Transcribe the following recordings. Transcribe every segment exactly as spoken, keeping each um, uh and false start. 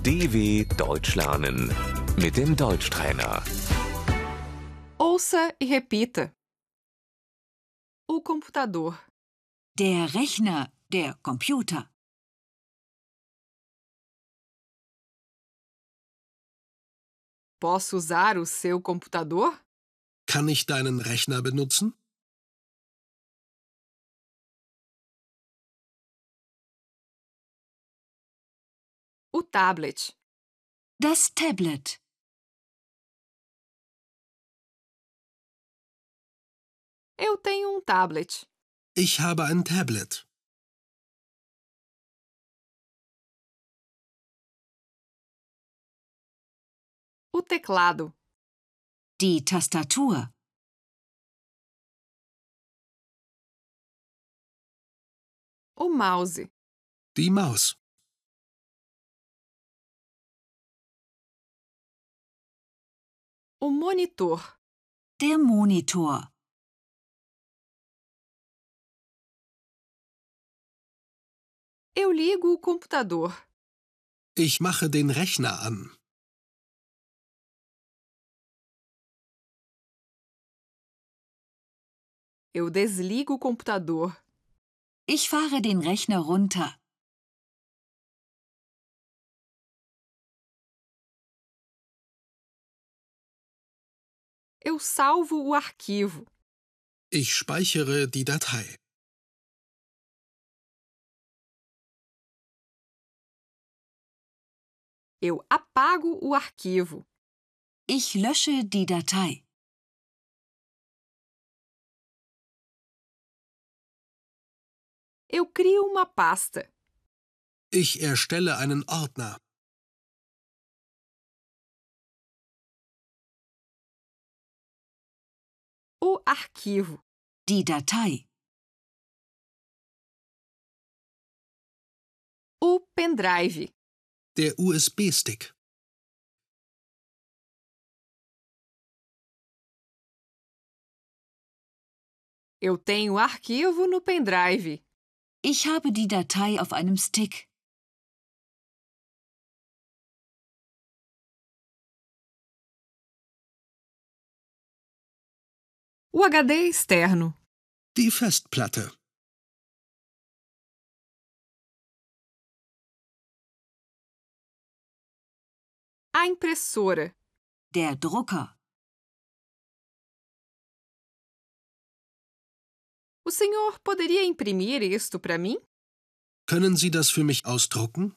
D W Deutsch lernen mit dem Deutschtrainer. Ouça e repita. O computador. Der Rechner, der Computer. Posso usar o seu computador? Kann ich deinen Rechner benutzen? O tablet. Das Tablet. Eu tenho um tablet. Ich habe ein Tablet. O teclado. Die Tastatur. O mouse. Die Maus. O monitor. Der Monitor. Eu ligo o computador. Ich mache den Rechner an. Eu desligo o computador. Ich fahre den Rechner runter. Eu salvo o arquivo. Ich speichere die Datei. Eu apago o arquivo. Ich lösche die Datei. Eu crio uma pasta. Ich erstelle einen Ordner. O arquivo. Die Datei. O pendrive. Der U S B-Stick. Eu tenho arquivo no pendrive. Ich habe die Datei auf einem Stick. O H D externo. Die Festplatte. A impressora. Der Drucker. O senhor poderia imprimir isto para mim? Können Sie das für mich ausdrucken?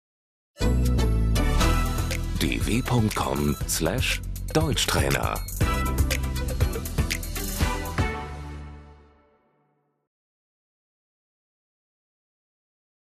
d w punkt com slash Deutschtrainer